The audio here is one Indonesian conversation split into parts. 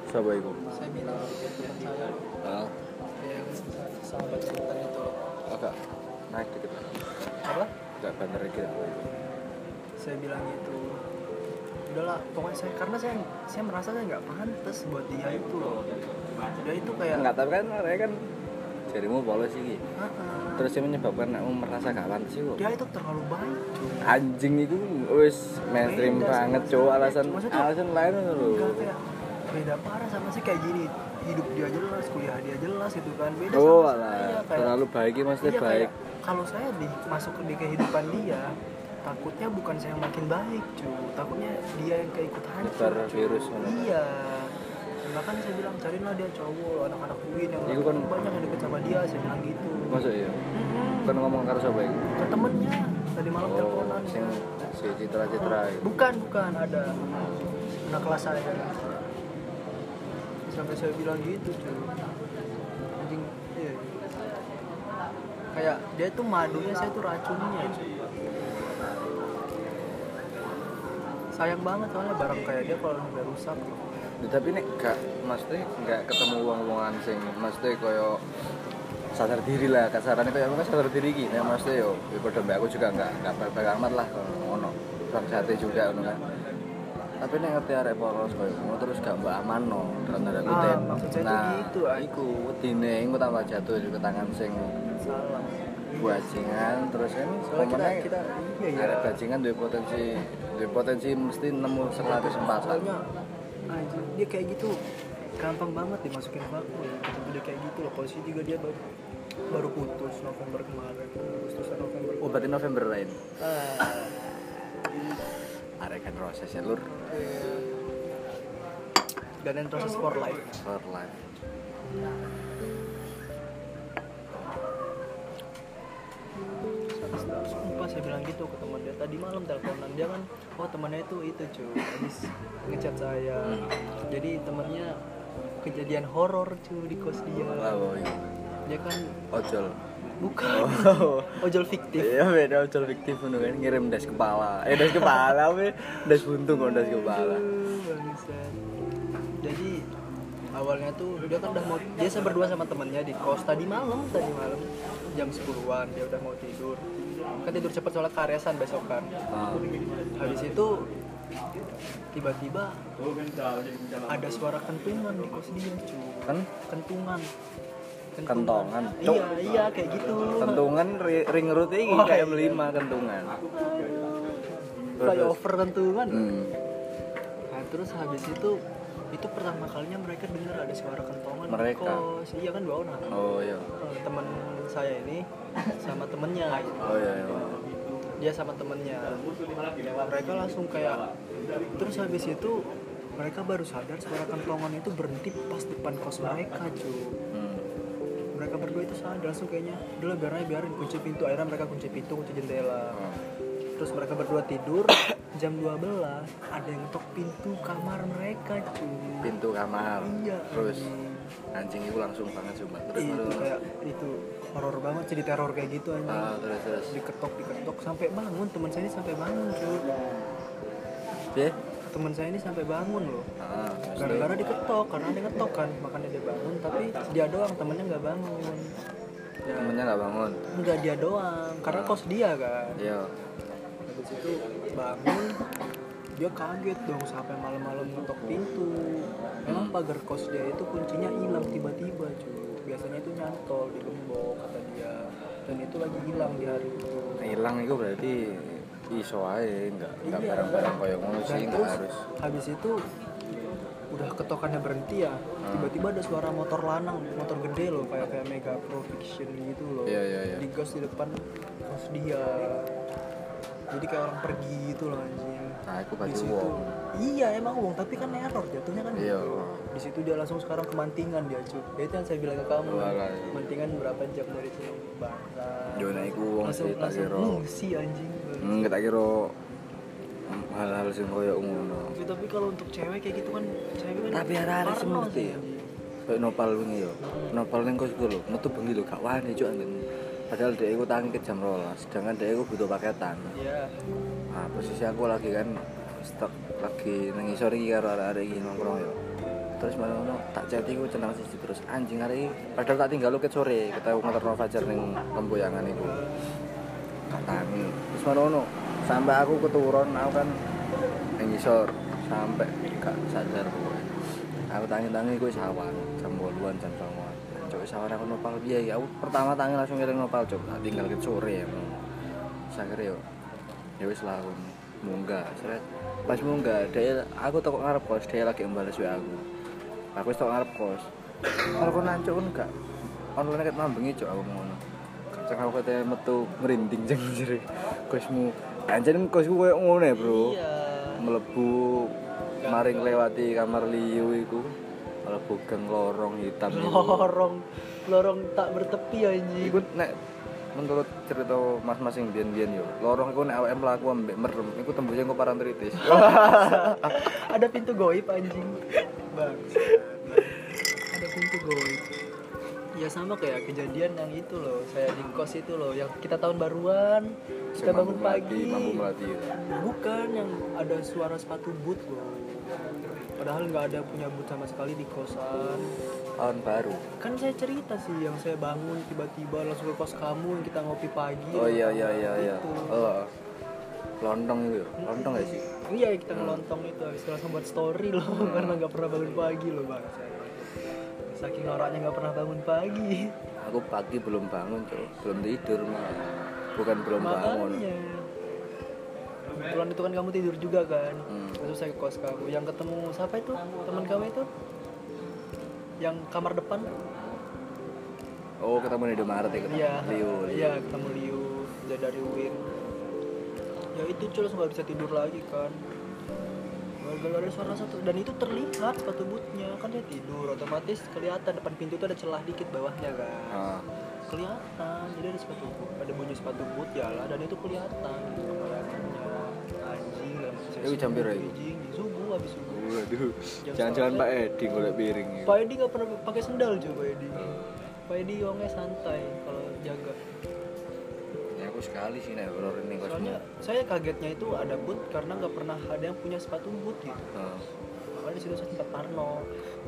Siapa itu? Saya bilang teman saya Ah, yang sahabat sebutan itu. agak naik dikit. Apa? Agak banter dikit. Saya bilang gitu. Udahlah, pokoknya saya merasa saya nggak pantas buat dia itu loh. Dia itu kayak Enggak, tapi kan mereka kan jarimu polos iki. "Heeh." Terus yang menyebabkan kamu merasa gak pantas itu. Dia itu terlalu baik. cuy. Anjing itu wis mainstream Beda banget, sama cowok. saya. Alasan Maksudnya, alasan lain lho. Enggak kayak beda parah sama sih kayak gini. Hidup dia jelas, kuliah dia jelas itu kan. Beda Oh, sama alah. saya kayak Terlalu baik ini maksudnya iya, baik. kayak kalau saya masuk di kehidupan dia, takutnya bukan saya yang makin baik, cuy. Takutnya dia yang keikut hancur. Nyebar cuy. virus mana. Iya. Bahkan saya bilang carilah dia cowok, anak-anak UIN yang Itu kan- banyak yang deket sama dia, saya bilang gitu. Masuk ya. Kan ngomong karo sapa iki? Ke temennya tadi malam teleponan. sing si Citra-Citra itu. Bukan ada anak kelas saya. Sampai saya bilang gitu, cuy. Anjing, iya. Kayak dia tuh madunya, saya tuh racunnya, cuy. Sayang banget soalnya barang kayak dia kalau udah rusak. Tapi nek gak mesti gak ketemu wong-wongan sing mesti koyo sadar diri lah, kasarannya koyo aku sadar diri iki. Nek mesti yo padha mbak aku juga enggak baik amat lah kalau ngono. Bang sate juga ngono kan. Tapi nek ngerti arek poros koyo ngono terus gak mbak amanno dalam tanda kutip. Maksud saya tuh gitu, iku wedine engko tambah jatuh juga tangan sing Salah. bajingan terus kan Soalnya kita iya arek ya. bajingan duwe potensi mesti nemu 100 kesempatan. Soalnya anjing dia kayak gitu gampang banget dimasukin vakum ya. Dia kayak gitu loh. Posisi juga dia baru putus November kemarin. Agustusan November. Oh, berarti November lain. Ah, Arek kan proses ya lur iya. Dan proses for life. for life. Sumpah saya bilang gitu ke teman dia tadi malam teleponan dia kan, oh temannya itu cuy habis ngechat saya. Jadi temannya kejadian horor cuy di kos dia. Oh iya. Dia kan Ojol. bukan ojol fiktif. Iya beda ojol fiktif ngono kan ngirim das kepala. Das kepala we, das buntung kok das kepala. Aduh, bangsat. Jadi awalnya tuh dia kan udah mau biasa berdua sama temannya di kos tadi malam jam 10-an dia udah mau tidur. Kan tidur cepat soalnya karyasan besokan. Habis itu tiba-tiba ada suara kentungan di kos dia cuy. Kan Kentungan. kentongan. Cuk. Iya kayak gitu. Kentungan ring road iki Oh, kayak iya. M5 kentungan. Flyover kentungan. Hmm. Nah, terus habis itu pertama kalinya mereka dengar ada suara kentongan Mereka? di kos. Iya kan 2 orang. Oh iya. Teman saya ini sama temennya. Oh iya. Dia sama temennya. Mereka langsung kayak terus habis itu mereka baru sadar suara kentongan itu berhenti pas depan kos mereka cuy. Mereka berdua itu sadar langsung kayaknya udah biarin kunci pintu. Akhirnya mereka kunci pintu, kunci jendela. Terus mereka berdua tidur. Jam 12 ada yang ngetok pintu kamar mereka cuy. Pintu kamar. Iya. Terus anjing itu langsung banget coba. Terus Itu terus. kayak itu horor banget, jadi teror kayak gitu aja. Terus. Diketok sampai bangun. Teman saya ini sampai bangun cuy. Piye? Teman saya ini sampai bangun loh. Terus Gara-gara diketok, karena ada ngetok kan, makanya dia bangun. Tapi dia doang, temennya nggak bangun. Ya, temennya enggak bangun. enggak dia doang, karena kos dia kan. Iya. Habis itu bangun, dia kaget dong sampai malam-malam ngetok pintu. Memang pagar kos dia itu kuncinya hilang tiba-tiba cuy. Biasanya itu nyantol di gembok kata dia. Dan itu lagi hilang di hari itu. Hilang itu berarti iso ae enggak Iya. barang-barang koyo ngono Dan sih enggak terus harus. habis itu udah ketokannya berhenti ya. Tiba-tiba ada suara motor lanang, motor gede loh kayak Mega Pro Fiction gitu loh. Iya. Digas di depan kos dia. Jadi kayak orang pergi gitu loh anjing. Nah, aku Di pasti situ. wong. Iya, emang wong, tapi kan error jatuhnya kan. Iya. Di situ dia langsung sekarang ke Mantingan dia, cuy. Ya itu yang saya bilang ke kamu. Walah. Mantingan berapa jam dari sini? Bangsa. Yo nek iku wong Langsung sih tak kira. ngungsi anjing. Tak kira hal-hal sing koyo ngono. Tapi kalau untuk cewek kayak gitu kan, cewek kan Tapi arek-arek sing parno ngerti sih, ya. anjing. Kayak nopal wingi yo. Nopal ning kos lho, metu bengi lho gak wani cuk anjen. Padahal dia iku tangi ke jam 12, sedangkan dia iku butuh paketan. Iya. Nah, posisi aku lagi kan stuck lagi nang isor iki karo arek-arek iki nongkrong yo. terus malah tak chat iku cenang siji terus anjing hari padahal tak tinggal ket sore ketemu ngeterno Fajar ning Tempoyangan iku katangi terus malah sampai aku keturun aku kan ning ngisor sampai gak sadar pokoknya aku tangi-tangi gue sawan jam 8-an jam 9-an cok sawan aku nopal piye ya aku pertama tangi langsung ngiring nopal cok tak tinggal ket sore ya sakire yo ya wis lah aku munggah seret pas munggah dia aku toko ngarep kos dia lagi mbales WA aku wis toko ngarep kos kalau kok nancuk kan gak online ket mambengi cok aku ngono cek aku kate metu merinding jeng jere kosmu anjen kosku koyo ngono ya bro Iya. mlebu maring lewati kamar liu iku mlebu gang lorong hitam lorong tak bertepi anjing. iku nek menurut cerita mas-mas sing biyen-biyen yo lorong iku nek awake mlaku ambek merem iku tembusnya engko parantritis Ada pintu goib anjing. Bang. Ada pintu goib. Ya sama kayak kejadian yang itu loh, saya di kos itu loh, yang kita tahun baruan, kita bangun pagi. mampu melati ya. Bukan yang ada suara sepatu boot loh. Padahal nggak ada punya boot sama sekali di kosan. Tahun baru. Kan saya cerita sih yang saya bangun tiba-tiba langsung ke kos kamu yang kita ngopi pagi. Oh iya. Itu. Oh. Lontong itu. Lontong gak sih? Iya kita ngelontong itu habis itu langsung buat story loh karena nggak pernah bangun pagi loh bang. Saking noraknya nggak pernah bangun pagi. Aku pagi belum bangun, Cok. Belum tidur malah. Bukan belum bangun. Makanya. Kebetulan itu kan kamu tidur juga kan. Hmm. Terus saya ke kos kamu. Yang ketemu siapa itu? Teman kamu itu? Yang kamar depan? Oh, ketemu di Indomaret ya, ketemu Iya. Liu. Iya, ketemu Liu. Dia dari Win. Ya itu cuy langsung nggak bisa tidur lagi kan. Gara-gara ada suara satu dan itu terlihat sepatu bootnya kan dia tidur otomatis kelihatan depan pintu tuh ada celah dikit bawahnya kan. Ah. Kelihatan jadi ada sepatu boot, ada bunyi sepatu boot ya lah dan itu kelihatan gitu bayangannya anjing lah Itu jam piro itu? anjing subuh habis subuh. Waduh. Jam Jangan-jangan setengah. Pak Edi golek piring. Ya. Pak Edi nggak pernah pakai sendal cuy Pak Edi. Pak Edi orangnya santai kalau jaga. Ya aku sekali sih nek horor ini kosmu. Soalnya saya kagetnya itu ada boot karena nggak pernah ada yang punya sepatu boot gitu. Makanya di situ saya sempat parno.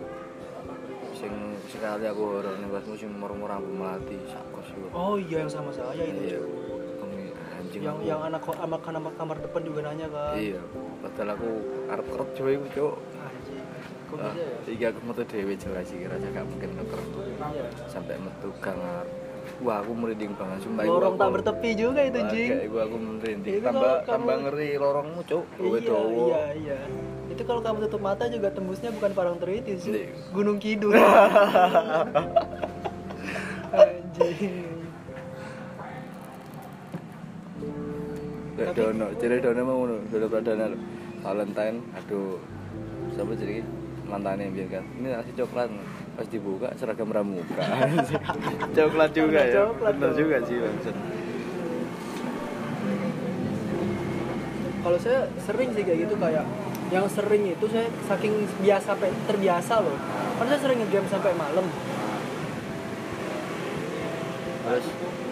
Sing sekali aku horor ning kosmu sing murmur rambut melati sak kos iku. Oh iya yang sama saya itu. Iya. cuy. Anjing. Yang anak kamar depan juga nanya kan. Iya. Padahal aku arep kerep coy iku, Cuk. Anjing. Kok bisa ya? Iki aku metu dhewe jelas iki rasa gak mungkin ngeker. Iya. Sampai metu gang arep. Wah, aku merinding banget sumpah. Lorong tak bertepi juga itu, Jing. Iku aku merinding. Itu kalau Tambah kamu- ngeri lorongmu, Cuk. Kowe Iya, dawa. iya. Itu kalau kamu tutup mata juga tembusnya bukan Parangtritis, Iya. Gunung Kidul. Anjing. Kayak dono, ciri dono mau ngono, dono pradana lho. Valentine, aduh. Siapa jadi mantannya biar kan. Ini nasi coklat. Pas dibuka seragam pramuka. Coklat juga Ada ya. coklat Bener dong. juga sih, Bang. Kalau saya sering sih kayak gitu kayak yang sering itu saya saking biasa terbiasa loh. Kan saya sering nge-game sampai malam. Terus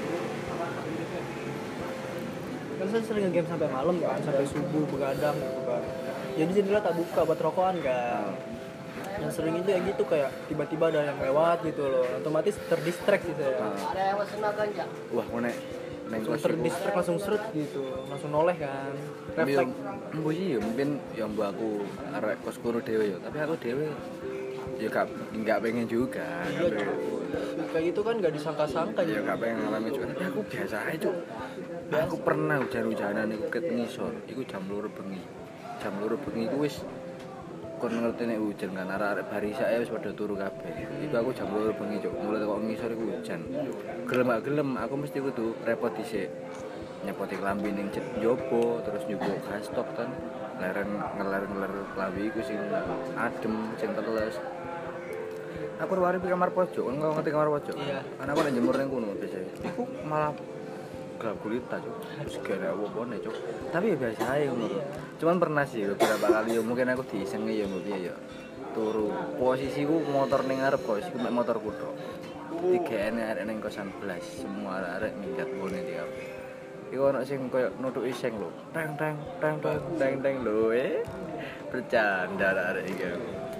Kan saya sering nge-game sampai malam kan, sampai subuh begadang gitu kan. Jadi jendela tak buka buat rokokan kan. Yang sering itu ya gitu kayak tiba-tiba ada yang lewat gitu loh. Otomatis terdistract sih saya. wah, mau nek neng Langsung kos iku. terdistract langsung seret gitu. Langsung noleh kan. Refleks. Mbo sih ya mungkin yang mbak aku arek kos kuru dhewe ya, tapi aku dhewe ya gak pengen juga. Iya, Cuk. Kayak gitu kan gak disangka-sangka Ya gitu. gak pengen ngalamin juga, tapi aku biasa aja, Cuk. Aku pernah hujan-hujanan iku ket ngisor, iku jam 2 bengi. Jam 2 bengi iku wis kon ngerti nek hujan kan arek-arek barisae wis padha turu kabeh. Iku aku jam 2 bengi, Cuk. Mulai kok ngisor iku hujan. Gelem gak gelem aku mesti kudu repot dhisik. Nyepoti klambi ning jopo, terus nyubuk gas stok kan. Ngeler klambi iku sing adem, sing teles. Aku wari kamar pojok, kan kau ngerti kamar pojok? Iya. Karena aku nek jemur ning kono biasa. Iku malah gelap gulita, Cuk. Terus gak ada apa-apa, Cuk. Tapi ya biasa aja ngono. Iya. Cuman pernah sih beberapa kali ya mungkin aku disengi ya mbok piye ya. Turu. Posisiku motor ning ngarep kos, iku mek motorku tok. Digene arek ning kosan blas, semua arek minggat ngene iki kabeh. Iku ana sing koyo nutuki seng lho. Teng lho. Bercanda arek iki.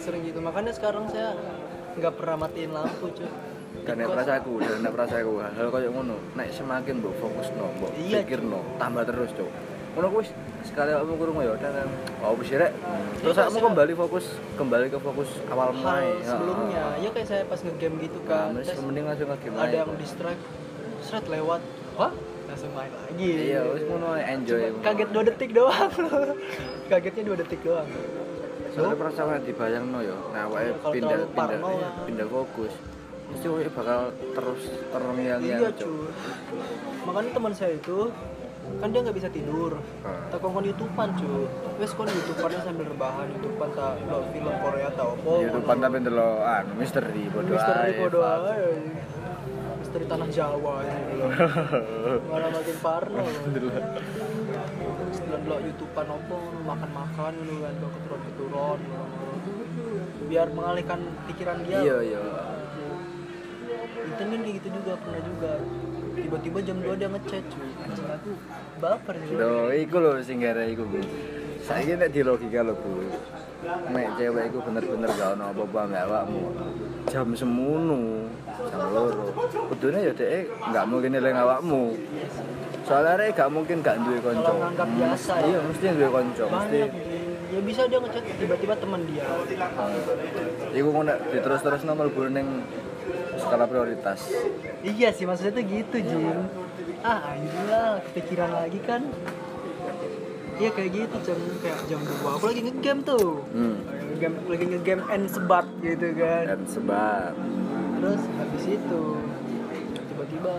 sering gitu. Makanya sekarang saya nggak pernah matiin lampu cuy. Karena perasaku, hal kayak ngono. Nek semakin mbok fokusno, mbok Iya, pikirno, tambah terus, Cuk. Ngono kuwi sekali kamu krungu ya udah kan. Oh, wis rek. Terus Iya, kamu kembali ke fokus awal hal mulai. sebelumnya ya kayak saya pas ngegame gitu kan. Nah, Terus mending langsung ke game ada lain. yang distract, seret lewat, wah langsung main lagi. Iya, wis ngono enjoy. Cuma kaget 2 detik doang. Kagetnya 2 detik doang. Soalnya perasaan dibayangno ya. Nah, awake Kalau terlalu parno lah. pindah fokus. Mesti awake bakal terus terngiang-ngiang. Iya cuy. Makanya teman saya itu kan dia nggak bisa tidur. Tak kongkon YouTubean cuy. Wes kon YouTubeannya sambil rebahan, YouTubean tak lo film Korea tau apa. YouTubean tapi ndelok misteri bodoh Misteri ae. bodoh aja. Misteri tanah Jawa gitu loh. Malah makin parno. Setelah lo YouTubean apa makan-makan gitu kan lo keturun-keturun. Biar mengalihkan pikiran dia. Iya. Itu kan kayak gitu juga pernah juga. Tiba-tiba jam 2 dia ngechat cuy. Anjing aku baper sih. Lho, iku lho sing gara iku, Bu. Saiki nek di logika lho, Bu. Nek cewek iku bener-bener gak ono apa-apa ambek awakmu. Jam semono, jam 2. Kudune ya dhek gak mungkin eling awakmu. Soalnya arek gak mungkin gak duwe kanca. Kalau nganggap biasa ya. Iya, mesti duwe kanca, mesti. Banyak ya bisa dia ngechat tiba-tiba teman dia. Iku kok nek diterus-terus nomor ning skala prioritas. Iya sih maksudnya tuh gitu Jing. Ayolah kepikiran lagi kan. Iya kayak gitu kayak jam 2 aku lagi ngegame tuh. Lagi ngegame and sebat gitu kan. Dan sebab Terus habis itu tiba-tiba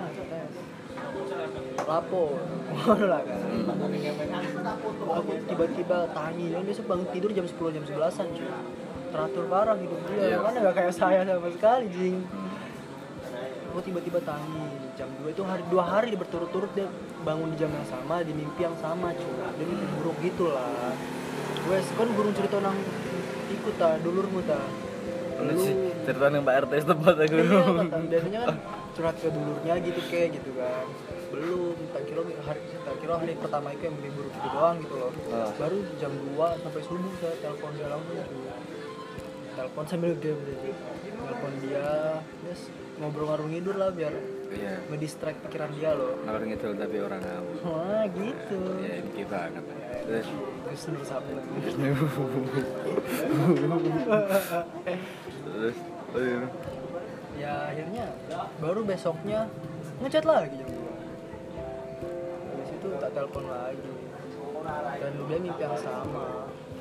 lapor ngono lah kan. Aku tiba-tiba tanya dia biasa bangun tidur jam 10 jam 11-an cuy. Teratur parah hidup dia. Iya. Mana gak kayak saya sama sekali Jing. Aku tiba-tiba tanya jam 2 itu 2 hari berturut-turut dia bangun di jam yang sama di mimpi yang sama cuy. Dia mimpi buruk gitu lah. Wes kan burung cerita nang ikut ta dulurmu ta. Lu cerita ning Pak RT setempat aku. Iya, kata biasanya kan curhat ke dulurnya gitu kayak gitu kan. Belum, tak kira hari pertama itu yang mimpi buruk gitu doang gitu loh. Baru jam 2 sampai subuh saya telepon dia langsung cuy. Telepon sambil game gitu. Telepon dia, terus ngobrol ngarung ngidur lah biar Iya. ngedistract pikiran dia loh. Ngalor ngidul tapi orang kamu. Wah gitu. Ya ini banget. Terus Terus nur sapu. terus oh iya. Ya akhirnya baru besoknya ngechat lagi jam 2. Habis itu tak telepon lagi. Dan dia mimpi yang sama.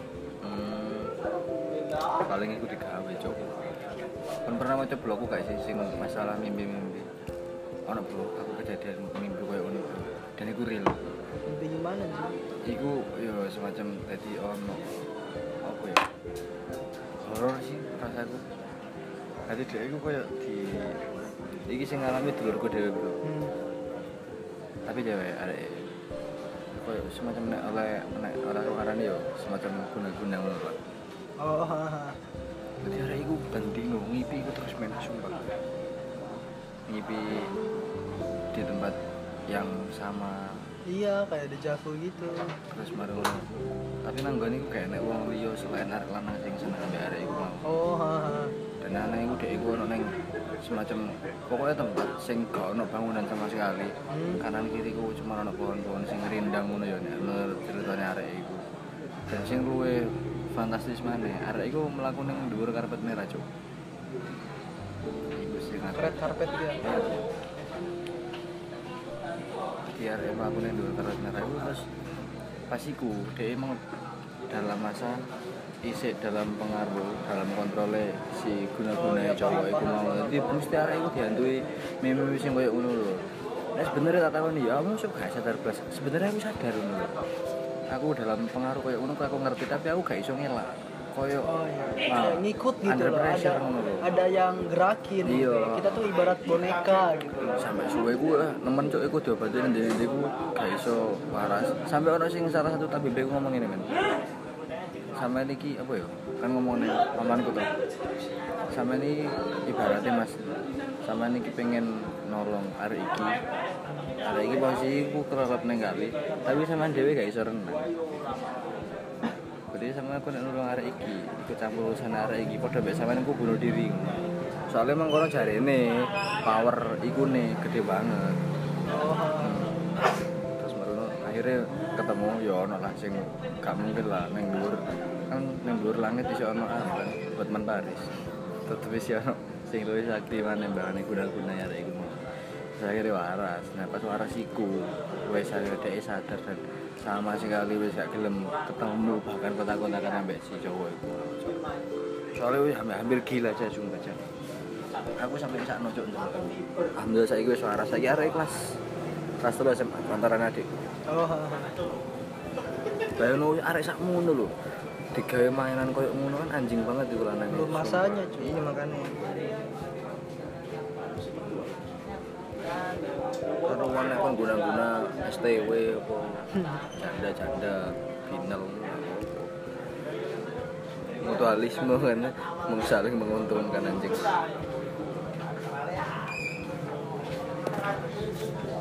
Paling aku digawe cok. Kan pernah maca blogku gak sih sing masalah mimpi-mimpi. Ono bro, aku kejadian mimpi koyo ngono bro. Dan iku real. Mimpi gimana sih? Iku yo semacam tadi ono apa ya? Horor sih rasaku. Tadi dia iku koyo iki sing ngalami dulurku dhewe bro. Tapi cewek arek koyo semacam nek orang-orang yo semacam guna-guna ngono Pak. Oh, Jadi hari itu banding ngipi aku terus main sumpah. Ngipi di tempat yang sama. iya kayak dejavu gitu. Terus marung. Tapi nanggone iku kayak nek wong liya selain arek lanang sing seneng ambek arek iku mau. Oh, Dan anak iku dek iku ono ning semacam pokoknya tempat sing gak ono bangunan sama sekali. Kanan kiri ku cuma ono pohon-pohon sing rindang ngono ya nek menurut ceritane arek iku. Dan sing luwe fantastis maneh, arek iku mlaku ning dhuwur karpet merah, Cuk. Iku sing red carpet dia. Dia arek mlaku ning dhuwur karpet merah iku terus pas iku dhek emang dalam masa isik dalam pengaruh dalam kontrole si guna-guna cowok iku mau. Jadi mesti arek iku dihantui mimpi sing koyo ngono lho. Nah sebenarnya tak takoni ya, kamu sok gak sadar blas. Sebenarnya aku sadar ngono lho. Aku dalam pengaruh koyo ngono aku ngerti tapi aku gak iso ngelak. Koyo Kayak ngikut gitu loh. Ada yang gerakin. Iya. Kita tuh ibarat boneka gitu. Sampai suwe ku nemen cuk iku diobati ndek iku gak iso waras. Sampai ono sing salah satu tabib ku ngomong ngene men. Sampai niki apa ya? Kan ngomongnya pamanku tuh. Sampai ini ibaratnya mas. Sampai niki pengen nolong arek iki. Arek iki posisi ku kerep neng kali, tapi sampean dhewe gak iso renang. berarti sama aku nek nulung arek iki ikut campur urusan arek iki padha mbek sampean aku bunuh diri. Soalnya emang kono jarene power iku nih gede banget. Terus marono akhirnya ketemu ya ono lah sing gak mungkin lah ning dhuwur kan ning dhuwur langit iso ono kan Hotman Paris. Tetep wis ono sing luwih sakti maneh mbane guna-guna arek iku. Saya akhirnya waras. Nah pas waras iku wis dhek sadar dan sama sekali wis gak gelem ketemu bahkan kontak-kontakan ambek si cowok iku. Soalnya wis hampir gila aja sumpah aja. Aku sampai bisa nojok ndelok. Alhamdulillah saiki wis waras. Saiki arek kelas 3 SMA antara adik. Bayangno arek sak ngono lho. Digawe mainan koyo ngono kan anjing banget iku lanang. Belum masanya cuy. Ini makanya. Karuan nek kon guna-guna STW apa janda-janda final. Mutualisme kan saling menguntungkan anjing.